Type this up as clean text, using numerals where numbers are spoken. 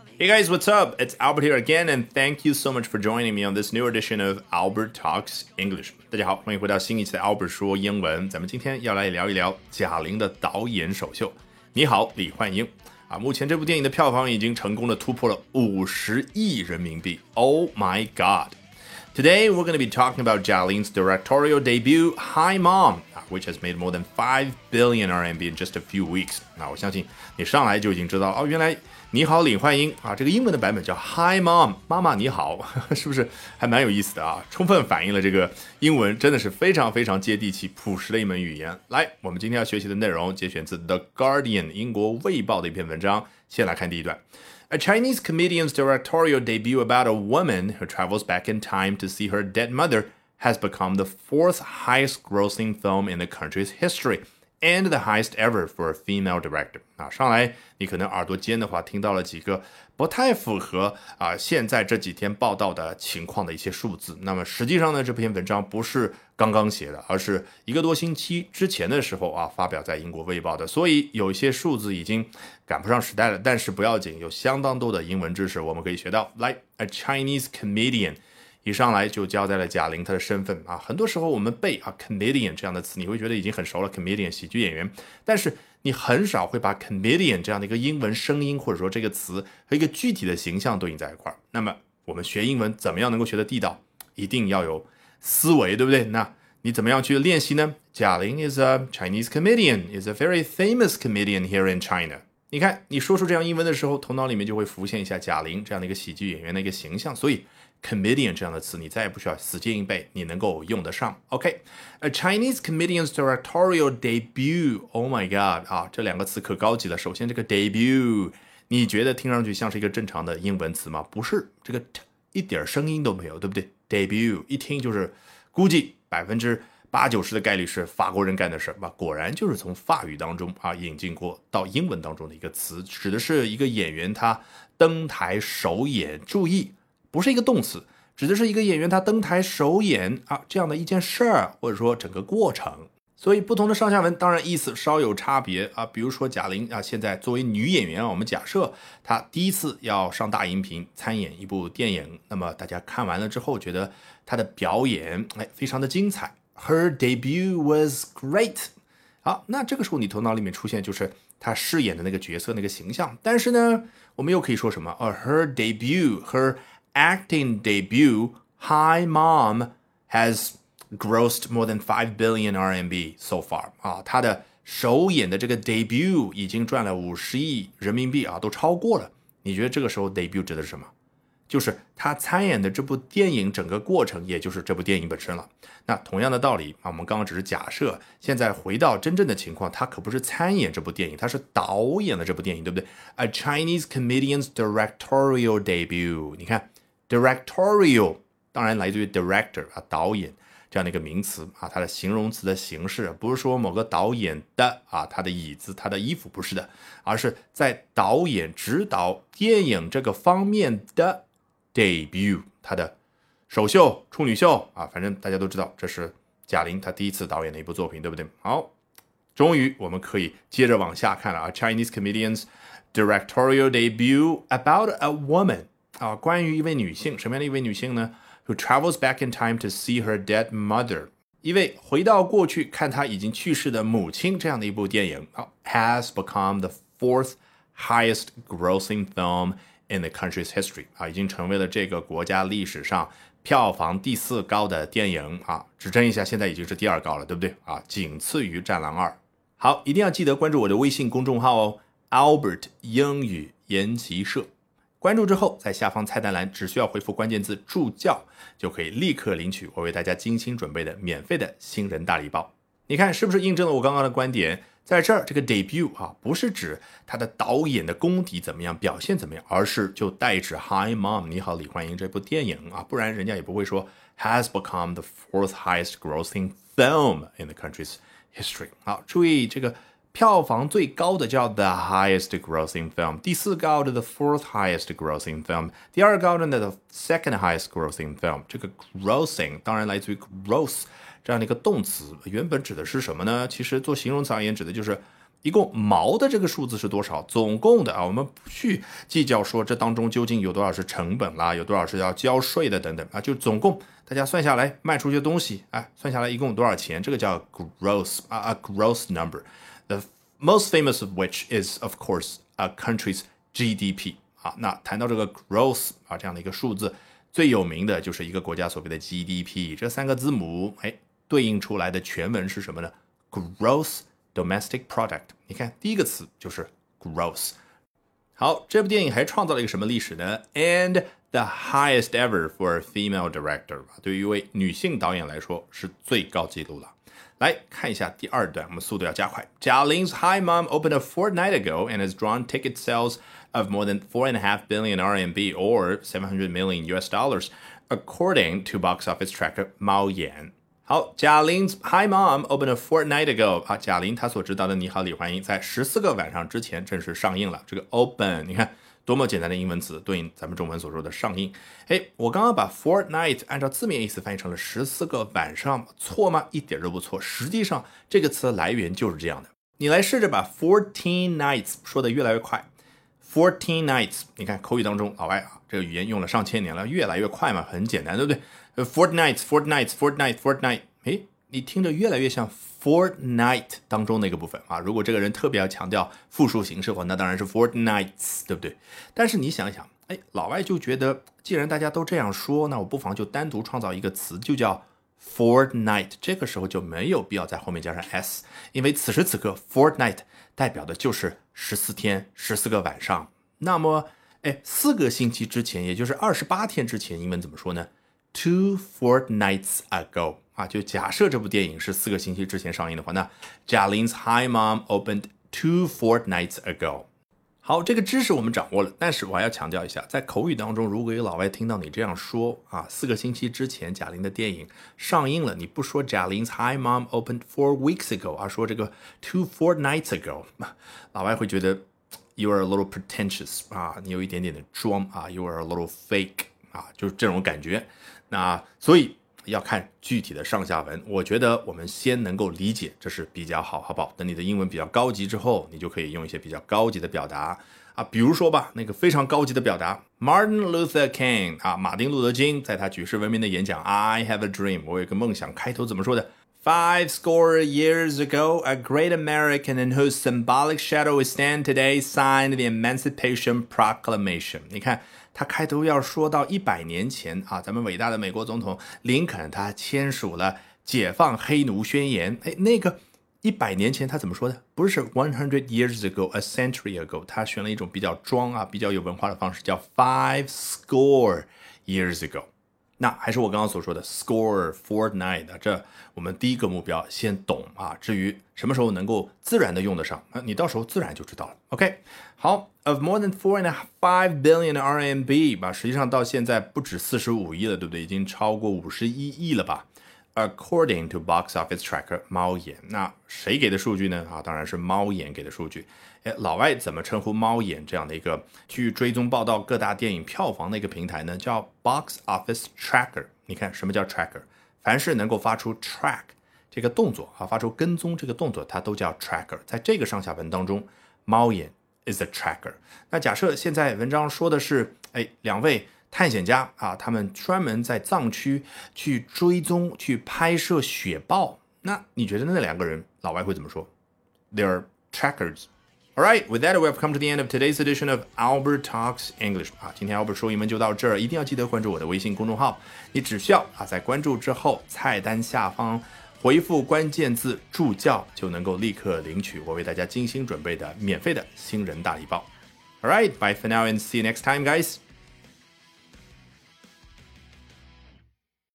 Hey guys, what's up? It's Albert here again, and thank you so much for joining me on this new edition of Albert Talks English. 大家好，欢迎回到新一期的 Albert 说英文。咱们今天要来聊一聊贾玲的导演首秀。你好，李焕英。目前这部电影的票房已经成功的突破了50亿人民币。Oh my god! Today we're going to be talking about Jia Ling's directorial debut, Hi Mom, which has made more than 5 billion RMB in just a few weeks. 我相信你上来就已经知道原来你好李焕英这个英文的版本叫 Hi Mom, 妈妈你好，是不是还蛮有意思的充分反映了这个英文真的是非常非常接地气朴实的一门语言。来，我们今天要学习的内容节选自 The Guardian 英国卫报的一篇文章，先来看第一段。A Chinese comedian's directorial debut about a woman who travels back in time to see her dead mother has become the fourth highest grossing film in the country's history and the highest ever for a female director. 上来你可能耳朵尖的话听到了几个不太符合现在这几天报道的情况的一些数字。那么实际上呢，这篇文章不是刚刚写的，而是1个多星期之前的时候发表在英国卫报的，所以有一些数字已经赶不上时代了，但是不要紧，有相当多的英文知识我们可以学到。来 A Chinese comedian， 一上来就交代了贾玲她的身份很多时候我们背comedian 这样的词，你会觉得已经很熟了， comedian 喜剧演员，但是你很少会把 comedian 这样的一个英文声音或者说这个词和一个具体的形象对应在一块儿。那么我们学英文怎么样能够学得地道？一定要有思维，对不对？那你怎么样去练习呢？贾玲 is a Chinese comedian, is a very famous comedian here in China。 你看你说出这样英文的时候，头脑里面就会浮现一下贾玲这样的一个喜剧演员的一个形象，所以 comedian 这样的词你再也不需要死记硬背，你能够用得上。 OK, a Chinese comedian's directorial debut. Oh my god 这两个词可高级了。首先这个 debut 你觉得听上去像是一个正常的英文词吗？不是，这个 t 一点声音都没有，对不对？ debut 一听就是估计80%-90%的概率是法国人干的事果然就是从法语当中引进过到英文当中的一个词，指的是一个演员他登台首演，注意不是一个动词，指的是一个演员他登台首演这样的一件事儿，或者说整个过程。所以不同的上下文当然意思稍有差别比如说贾玲现在作为女演员我们假设她第一次要上大荧屏参演一部电影，那么大家看完了之后觉得她的表演非常的精彩， Her debut was great。 好，那这个时候你头脑里面出现就是她饰演的那个角色那个形象，但是呢我们又可以说什么her debut, her acting debut, Hi Mom, has grossed more than 5 billion RMB so far 他的首演的这个 debut 已经赚了50亿人民币都超过了。你觉得这个时候 debut 指的是什么？就是他参演的这部电影整个过程，也就是这部电影本身了。那同样的道理我们刚刚只是假设，现在回到真正的情况，他可不是参演这部电影，他是导演了这部电影，对不对？ A Chinese comedian's directorial debut。 你看 directorial 当然来自于 director 导演这样的一个名词它的形容词的形式不是说某个导演的他的椅子他的衣服，不是的，而是在导演指导电影这个方面的 debut， 他的首秀处女秀反正大家都知道这是贾玲她第一次导演的一部作品，对不对？好，终于我们可以接着往下看了Chinese comedian's directorial debut about a woman 关于一位女性，什么样的一位女性呢？Who travels back in time to see her dead mother， 一位回到过去看她已经去世的母亲这样的一部电影has become the fourth highest grossing film in the country's history 已经成为了这个国家历史上票房第4高的电影指正一下，现在已经是第2高了，对不对仅次于战狼2。好，一定要记得关注我的微信公众号Albert 英语研习社，关注之后在下方菜单栏只需要回复关键字助教，就可以立刻领取我为大家精心准备的免费的新人大礼包。你看是不是印证了我刚刚的观点？在这儿这个 debut 不是指他的导演的功底怎么样，表现怎么样，而是就代指 Hi Mom 你好李焕英这部电影不然人家也不会说 has become the fourth highest grossing film in the country's history。 好，注意这个票房最高的叫 the highest grossing film， 第4高的 the fourth highest grossing film， 第2高的 the second highest grossing film。 这个 grossing 当然来自于 gross 这样的一个动词，原本指的是什么呢？其实做形容词而言指的就是一共毛的这个数字是多少？总共的啊，我们不去计较说这当中究竟有多少是成本啦，有多少是要交税的等等啊，就总共大家算下来卖出去的东西，算下来一共多少钱？这个叫 gross gross number. The most famous of which is of course a country's GDP 啊。那谈到这个 gross 啊这样的一个数字，最有名的就是一个国家所谓的 GDP 这3个字母，对应出来的全文是什么呢？ Gross Domestic Product。 你看第一个词就是 gross。 好，这部电影还创造了一个什么历史呢？ And the highest ever for a female director， 对于一位女性导演来说是最高纪录了。来看一下第二段，我们速度要加快。 Jia Ling's Hi Mom opened a fortnight ago and has drawn ticket sales of more than 4.5 billion RMB or $700 million according to box office tracker Mao Yan。好，贾玲 Hi Mom opened a fortnight ago 啊，贾玲她所知道的你好李焕英在14个晚上之前正式上映了。这个 open 你看多么简单的英文词，对应咱们中文所说的上映。我刚刚把 fortnight 按照字面意思翻译成了14个晚上，错吗？一点都不错。实际上这个词的来源就是这样的。你来试着把 14 nights 说的越来越快。14 nights 你看口语当中老外啊，这个语言用了上千年了，越来越快嘛，很简单，对不对？fortnight 你听着越来越像 fortnight 当中那个部分啊。如果这个人特别要强调复数形式的话，那当然是 fortnights， 对不对？但是你想一想，老外就觉得既然大家都这样说，那我不妨就单独创造一个词，就叫 fortnight。 这个时候就没有必要在后面加上 s， 因为此时此刻 fortnight 代表的就是14天14个晚上。那么4个星期之前，也就是28天之前，英文怎么说呢？ 2 fortnights ago 啊，就假设这部电影是4个星期之前上映的话，那 Jia Ling's Hi Mom opened 2 fortnights ago。 好，这个知识我们掌握了，但是我还要强调一下，在口语当中，如果有老外听到你这样说啊，4个星期之前贾玲的电影上映了，你不说 Jia Ling's Hi Mom opened 4 weeks ago 啊，说这个 2 fortnights ago， 老外会觉得 you are a little pretentious 啊，你有一点点的装啊， you are a little fake 啊，就是这种感觉。那所以要看具体的上下文，我觉得我们先能够理解，这是比较好，好不好？等你的英文比较高级之后，你就可以用一些比较高级的表达啊，比如说吧，那个非常高级的表达 Martin Luther King 啊，马丁路德金在他举世闻名的演讲 I have a dream， 我有一个梦想，开头怎么说的？5 score years ago, a great American in whose symbolic shadow we stand today signed the Emancipation Proclamation。 你看他开头要说到100年前啊，咱们伟大的美国总统林肯他签署了解放黑奴宣言。那个100年前他怎么说的？不是100 years ago, a century ago， 他选了一种比较装啊，比较有文化的方式，叫5 score years ago。那还是我刚刚所说的 score fortnight， 这我们第一个目标先懂啊，至于什么时候能够自然的用得上，你到时候自然就知道了。 OK， 好， of more than 4.5 billion RMB 吧，实际上到现在不止45亿了，对不对？已经超过51亿了吧。According to box office tracker 猫眼，那谁给的数据呢？当然是猫眼给的数据。老外怎么称呼猫眼这样的一个去追踪报道各大电影票房的一个平台呢？叫 box office tracker。 你看什么叫 tracker？ 凡是能够发出 track 这个动作发出跟踪这个动作，它都叫 tracker。 在这个上下文当中，猫眼 is a tracker。 那假设现在文章说的是两位探险家他们专门在藏区去追踪去拍摄雪豹，那你觉得那两个人老外会怎么说？ They're trackers。 Alright, with that, we have come to the end of today's edition of Albert Talks English 今天 Albert 说英文就到这儿，一定要记得关注我的微信公众号，你只需要在关注之后菜单下方回复关键字助教，就能够立刻领取我为大家精心准备的免费的新人大礼包。 Alright, bye for now and see you next time, guys.